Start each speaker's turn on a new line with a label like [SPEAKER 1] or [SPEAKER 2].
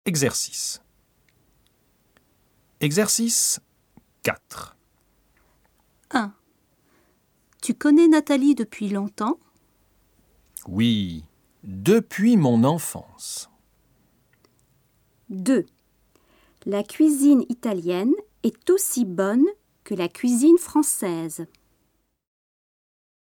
[SPEAKER 1] Exercice. Exercice 4.
[SPEAKER 2] 1. Tu connais Nathalie depuis longtemps?
[SPEAKER 1] Oui, depuis mon enfance.
[SPEAKER 2] 2. La cuisine italienne est aussi bonne que la cuisine française.